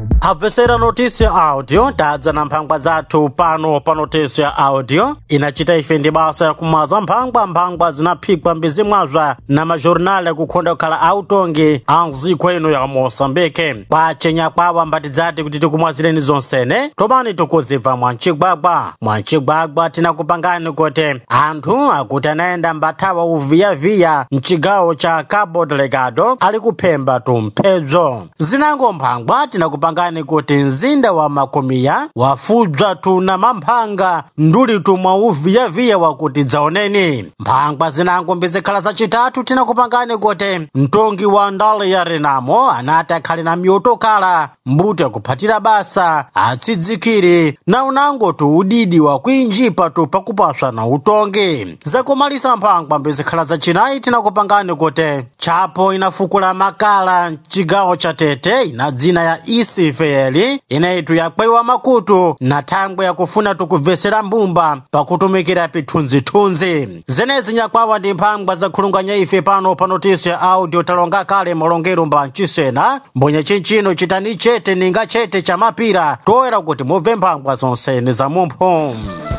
Habvesera notícia audio tadza na mphangwa zathu pano pa notícia audio inachita ife ndi basa yakumaza mphangwa zinaphikwa mbizimwazva na majornal yakukhonda kukhala autongi anziko ino ya Moçambique kwachenya kwawa mbatidzati kuti tikumwazireni zonsene topani tikuzibva mwancigwagwa tinakupangani kuti anthu akuti anaenda mbathawa uviyaviya mcigawo cha Cabo Delgado ali kuphemba tumphedzo zinango mphangwa tinakupangani kuti mzinda wa Makomiya wafudza tuna mamphanga nduli tumwa uviyaviya wakuti dzaoneni mphangwa zinango mbizikhala zacitatu tinakupangani kuti mtongi wa ndale ya Renamo anati akhali na miyotokala mbuto yakuphatira basa atsidzikiri na unango tu udidi wa kuinjipa tu pakupaswa na utongi zakumalisa mphangwa mbizikhala zacinayi tinakupangani kuti chapo inafukula makala mcigawo cha Tete ina dzina ya Isifeli inaitu yakwewa makutu na thangwe yakufuna tukubvesera mbumba pakutumikira pithunzithunzi zenezi nyakwawa ndi mphangwa zakhulunganya ife pano pa notícia audio talonga kale molongero mba mcisena mbonye chinchino chitani chete ninga chete cha mapira toera kuti mubve mphangwa zonsene za mumpho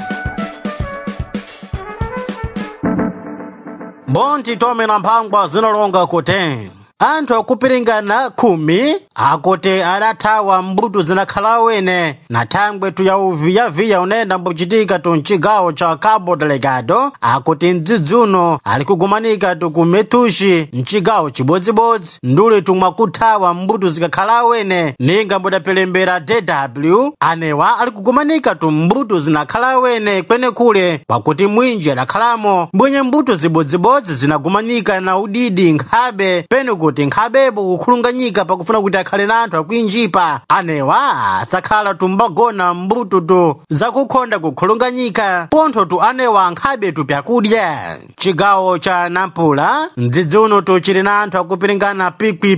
mbonti tome na mphangwa zinolonga kuti anthu akupiringana 10 akuti adathawa mbuto zinakhala wene na thangwe tuya uviyaviya unenda mbuchitika tu mcigawo cha Cabo Delgado akuti mdzidzuno ali kugumanika tu kumethushi mcigawo chibodzibodzi nduli tumwa kuthawa mbuto zikakhala wene ninga mbudapelembera DW anewa ali kugumanika tu mbuto zinakhala wene kwene kule pakuti mwinji adakhalamo mbwenye mbuto zibodzibodzi zinagumanika na udidi nkhabe pene kuti nkhabebo kukhulunganyika pakufuna kuti akhale na anthu akuinjipa anewa asakhala tumbagona mbuto tu zakukhonda kukhulunganyika pontho tu anewa nkhabe tu pyakudya cigawo cha Nampula mdzidzuno tu chili na anthu akupiringana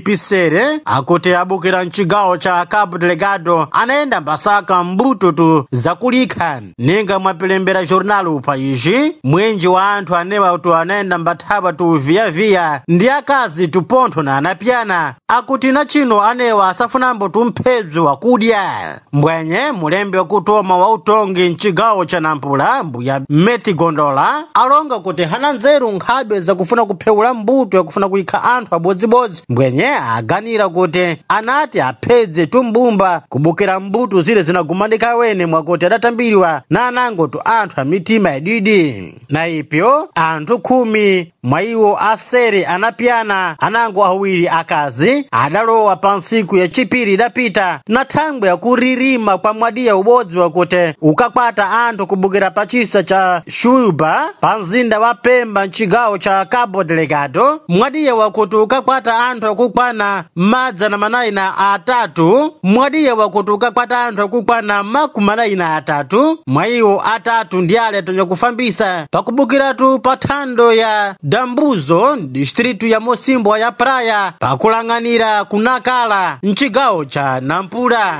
pisere akuti abukira mcigawo cha Cabo Delgado anaenda mbasaka mbuto tu zakulikha ninga mwapelembera jornal pa izi mwenji wa anthu anewa tu anaenda mbathawa tu viyaviya ndi akazi tu pontho na anapyana akuti na chino anewa asafunambo tumphedzo wakudya mbwenye mulembe wakutoma wa utongi mcigawo cha Nampula mbuya Meti Gondola alonga kuti hana nzeru nkhabe zakufuna kuphewula mbuto yakufuna kuyikha anthu abodzibodzi mbwenye aganira kuti anati aphedze tumbumba kubukira mbuto zile zinagumanika wene mwakuti adatambiriwa na anango tu anthu amitima yadidi na ipyo anthu 10 mwa iwo asere anapyana anango awiri akazi adalowa pa ntsiku ya chipiri idapita na thangwe yakuririma kwa mwadiya ubodzi wakuti ukakwata anthu kubukira pachisa cha Shuba pa mzinda wa Pemba mcigawo cha Cabo Delgado mwadiya wakuti ukakwata anthu akukwana madza na manayi na atatu mwadiya wakuti ukakwata anthu akukwana makumanayi na atatu mwa iwo atatu ndi ale tonyakufambisa pakubukiratu pa thando ya Dambuzo distritu ya Mosimbo ya Praia pakulang'anira kunakala mcigawo cha Nampula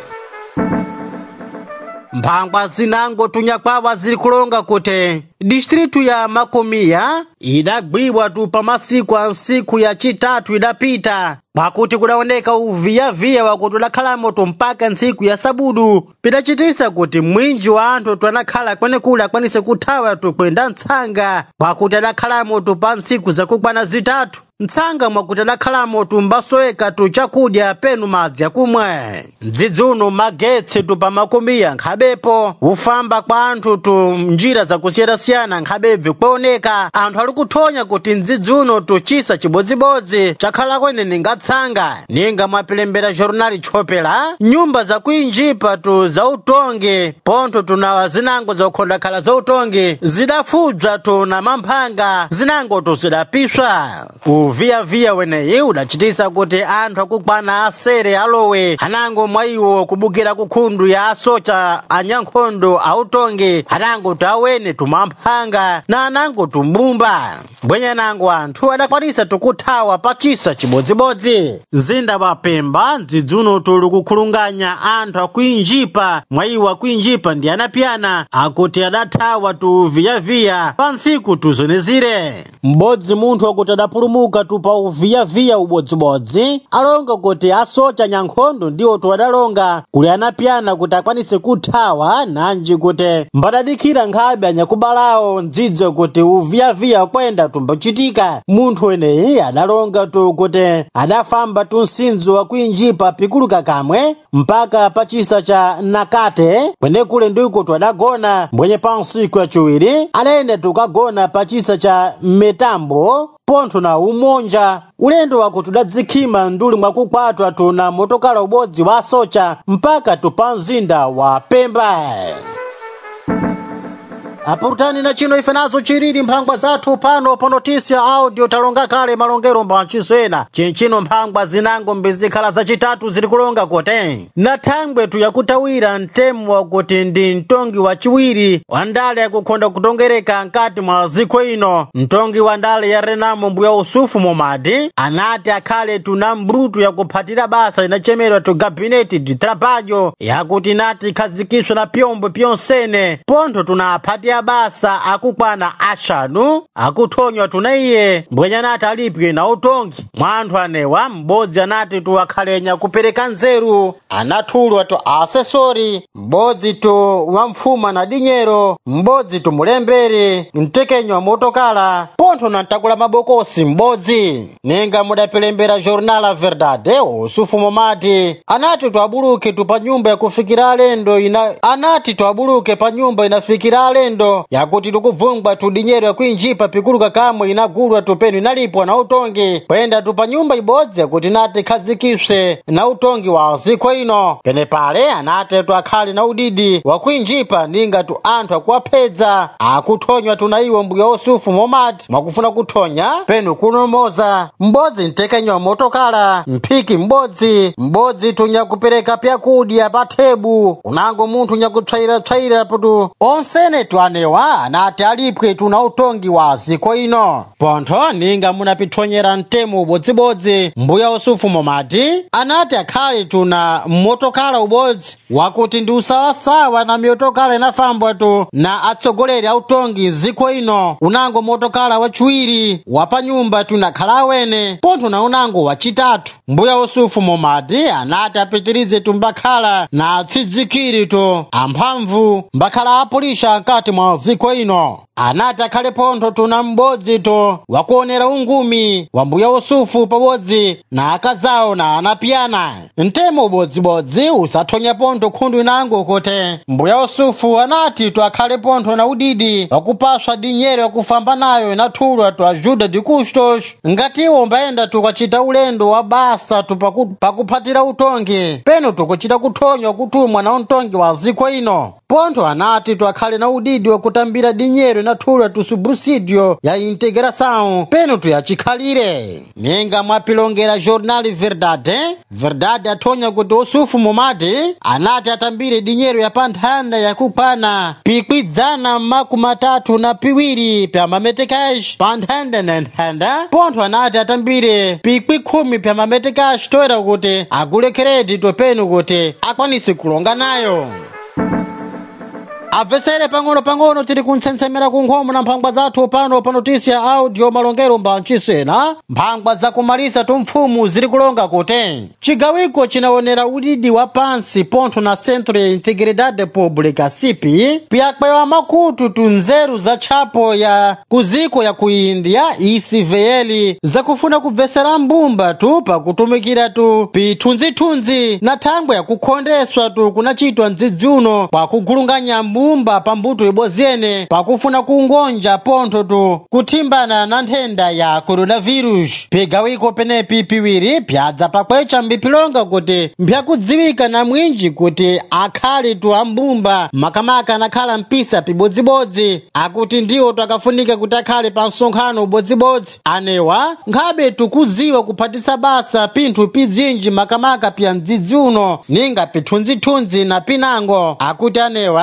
mphangwa zinango tunyakwawa ziri kulonga kuti distritu ya Makomiya idagwibwa tu pa masiku a ntsiku ya chitatu idapita pakuti kudaoneka uviyaviya wakuti udakhalamo tu mpaka ntsiku ya Sabudu pidachitisa kuti mwinji wa anthu tu anakhala kwenekule akwanise kuthawa tu kwenda mtsanga pakuti adakhalamo tu pa ntsiku zakukwana zitatu mtsanga mwakuti adakhalamo tu mbasoweka tu chakudya penu madzi akumwe mdzidzuno magetsi tu pa Makomiya nkhabepo ufamba kwa anthu tu njira zakusiyana-siyana nkhabebve kuoneka anthu ali kuthonya kuti mdzidzuno tu chisa chibodzibodzi chakhala kwene ningatsanga ninga mwapelembera jornali Chopela nyumba zakuinjipa tu za utongi pontho tuna zinango zakukhonda khala za utongi zidafudza tu na mamphanga zinango tu zidapiswa uviyaviya weneyi udachitisa kuti anthu akukwana asere alowe anango mwa iwo kubukira kukhundu ya asocha anyankhondo autongi anango tu awene tumamphanga mphanga na anango tumbumba. Bwenye nango anthu adakwanisa tukuthawa pa chisa chibodzibodzi. Zinda wapemba ndzidzuno tuli kukhulunganya anthu akuinjipa mwayiwa kuinjipa ndi anapyana akuti adathawa tuviyaviya pa ntsiku tuzonezire. M'bodzi munthu akuti adapulumuka tupa uviyaviya ubodzibodzi alonga kuti asocha nyankhondo ndiwo tuwadalonga kuli anapyana kuti akwanise kuthawa nanji kuti mbadadikira nkhabe anyakubalawo ndzidzo kuti uviyaviya kwenda tumbachitika. Munthu eneyi adalonga tu kuti adafamba tunsinzo wa kuinjipa pikuluka kamwe mpaka pachisa cha Nakate kwenekule ndiko twadagona mbwenye pa nsiku yachiwiri alende tukagona pachisa cha Metambo pontho na umonja. Ulendo wako tudadzikhima nduli mwakukwatwa tuna motokala ubodzi wa socha mpaka tupa mzinda wa Pemba. Apurutani na chino ife nazo chiriri mphangwa zathu pano pa Notisia Audio talonga kale malongero mbachisena chinchino mphangwa zinango mbizikhala zacitatu ziri kulonga kote na thangwe tuyakutawira mtemu wakuti ndi mtongi wa chiwiri wa ndale yakukhonda kutongereka nkati mwa ziko ino. Mtongi wa ndale ya Renamo Mbuya Usufu Momadi anati akhale tuna mbrutu yakuphatira basa inachemerwa tu gabineti di trabalho yakuti nati khazikiswa na pyombo pyonsene pontho tunaphatia basa akukwana ashanu akuthonywa tunaiye mbwenya nati alipwe na utongi. Mwanthu anewa m'bodzi anati tuwakhalenya kupereka nzeru anathulwa tu asesori m'bodzi tu wamfuma na dinyero m'bodzi tu mulembere mtekenyo wa motokala pontho na ntakula mabokosi m'bodzi. Ninga mudapelembera Jornal La Verdade Usufu Momadi anati tuabuluke tu pa nyumba yakufikira alendo anati tuabuluke pa nyumba inafikira alendo yakuti tukuvungwa tu dinyero yakuinjipa pikuluka kamwe inagulwa tupenu inalipwa na utongi kwenda tupa nyumba ibodzi yakuti nati khazikiswe na utongi wa ziko ino. Pene pale anati tu akhali na udidi wakuinjipa ninga tu anthu akuwaphedza akuthonywa tunaiwo Mbuya Usufu Momadi mwakufuna kuthonya penu kunomoza. M'bodzi mtekenyo wa motokala mphiki m'bodzi tunyakupereka pyakudya pa thebu unango munthu nyakutsvaira putu onsene twanewa anati alipwe tuna utongi wa ziko ino. Pontho ninga munapithonyera mtemu ubodzibodzi Mbuya Usufu Momadi anati akhali tuna motokala ubodzi wakuti ndi usawasawa na motokala inafambwa tu na atsogoleri a utongi ziko ino unango motokala wachiwiri wapa nyumba tunakhala awene pontho na unango wachitatu. Mbuya Usufu Momadi anati apitirize tumbakhala na atsidzikiri tu amphamvu mbakhala apulisha nkati mwa ziko ino. Anati akhale pontho tuna m'bodzi tu wakuonera ungumi wa Mbuya Usufu pabodzi na akazawo na anapyana. Mtemo ubodzibodzi usathonya pontho khundu inango kote Mbuya Usufu anati tu akhale pontho na udidi wakupaswa dinyero yakufamba nayo inathulwa tu ajuda de custos ngatiwo mbaenda tukachita ulendo wa basa tu pakuphatira utongi penu tukuchita kuthonywa kutumwa na utongi wa ziko ino. Pontho anati tu akhale na udidi wakutambira dinyero inathulwa tu subsidio ya integração penu tuyachikhalire. Ninga mwapilongera Jornal Verdade athonya kuti Usufu Momadi anati atambire dinyero ya panthanda yakupana pikwidzana makumatatu na piwiri pya mametekash panthanda na nthanda pontho anati atambire pikwi 10 pya mametekash toera kuti agule credit penu kuti akwanise kulonga nayo. Avesere pang'ono tiri kuntsensemera kunkhomo na mphangwa zathu pano pa Notisia Audio malongero mbachisena mphangwa zakumalisa tumfumu ziri kulonga kote. Chigawiko chinaonera udidi wa pansi pontho na Centro ya Integridade Pública CIP pyakwewa makutu tunzeru za chapo ya kuziko ya kuindia ICVL zakufuna kubvesera mbumba tu pakutumikira tu pithunzithunzi na thangwe ya kukhondeswa tu kunachitwa ndzidzi uno kwa kugulunganya mbumba pambuto ibozene pakufuna kungonja pontho tu kuthimbana na nthenda ya coronavirus. Pigawiko penepi piwiri pyadza pakwecha mbipilonga kuti mpyakudziwika na mwinji kuti akhali tu ambumba makamaka nakhala mpisa pibodzibodzi akuti ndiwo takafunika kuti akhale pa msonkhano ubodzibodzi anewa nkhabe tukuziwa kuphatisa basa pinthu pidzinji makamaka pya mdzidzi uno ninga pithunzithunzi na pinango akuti anewa hala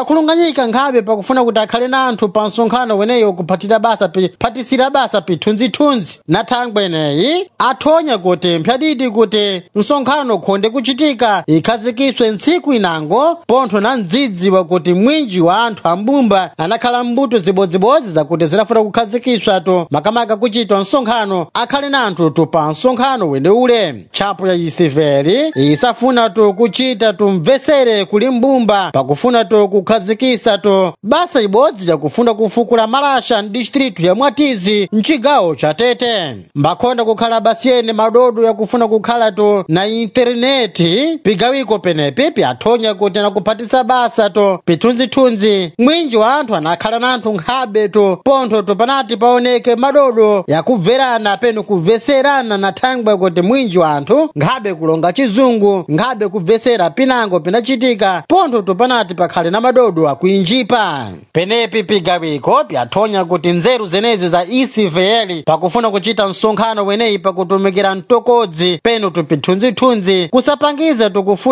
adakhulunganyika nkhabe pakufuna kuti akhale na anthu pa msonkhano weneyo kuphatisira basa pithunzithunzi na thangwe ineyi athonya kuti mphyadidi kuti msonkhano khonde kuchitika ikhazikiswe ntsiku inango pontho na mdzidzi wakuti mwinji wa anthu ambumba anakhala mbuto zibodzibodzi zakuti zinafuna kukhazikiswa makamaka kuchitwa msonkhano akhale na anthu pa msonkhano weneule. Tchapo ya isiveli isafuna kuchita mvesere kuli mbumba pakufuna kukhazikisa basa ibodzi yakufuna kufukula malasha mdistritu ya Mwatizi mchigawo cha Tete. Mbakhonda kukhala basiyene madodo yakufuna kukhala na interneti pigawiko penepi pyathonya kuti nakuphatisa basa pithunzithunzi mwinji wa anthu anakhala na anthu nkhabe pontho panati paoneke madodo yakubverana peno kubveserana na thangwe kuti mwinji wa anthu nkhabe kulonga chizungu nkhabe kubvesera pinango pinachitika pontho panati pakhale na madodo akuinjipa. Penepi pigawiko pyathonya kuti nzeru zenezi za isiveli pakufuna kuchita msonkhano weneyi pakutumikira mtokodzi peno pithunzithunzi kusapangiza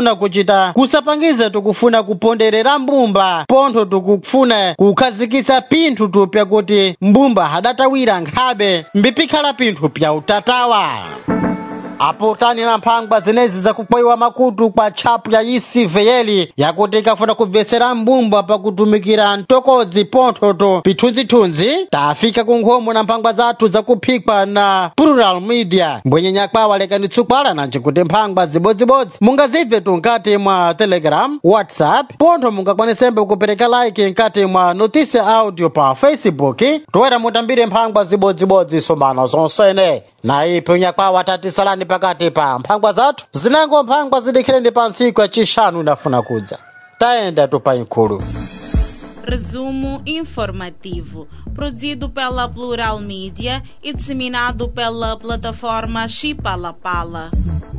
tukufuna kuponderera mbumba pontho tukufuna kukhazikisa pinthu pyakuti mbumba hadatawira nkhabe mbipikhala pinthu pya utatawa. Apotani na mphangwa zenezi zakukwayiwa makutu kwa tchapo ya isiveli yakuti ikafuna kubvesera mbumba pakutumikira mtokodzi pontho pithunzithunzi tafika kunkhomo na mphangwa zathu zakuphikwa na Plural Media mbwenye nyakwawa lekanitsukwala nanji kuti mphangwa zibodzibodzi mungazibve nkati mwa Telegram, WhatsApp pontho mungakwanesembe kupereka like nkati mwa Notice Audio pa Facebook toera mutambire mphangwa zibodzibodzi somano zonsene na ipo nyakwawa tatisalani pakati pa mphangwa zathu zinango mphangwa zidikhireni pa ntsiku ya chishanu inafuna kudza taenda pa inkulu. Resumo informativo, produzido pela Plural Media e disseminado pela plataforma Chipalapala.